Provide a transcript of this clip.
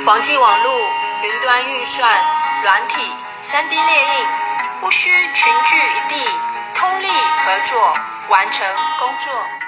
网际网路、云端运算、软体、3D 列印，不需群聚一地，通力合作完成工作。